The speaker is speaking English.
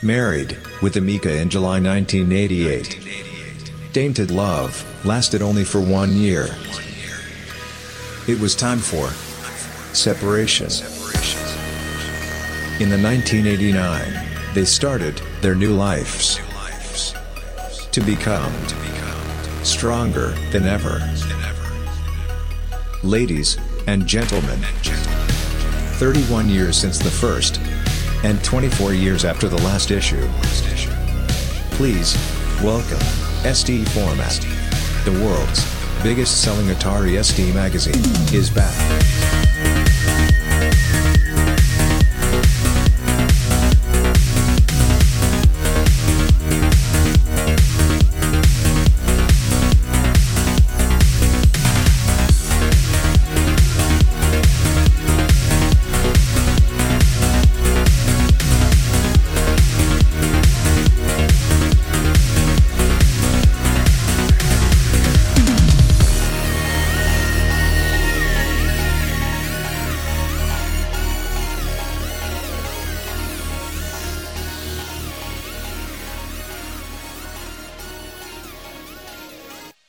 Married, with Emika in July 1988. Tainted Love lasted only for 1 year. It was time for separation. In the 1989, they started their new lives to become stronger than ever. Ladies and gentlemen, 31 years since the first, and 24 years after the last issue. Please welcome SD Format. The world's biggest selling Atari SD magazine is back.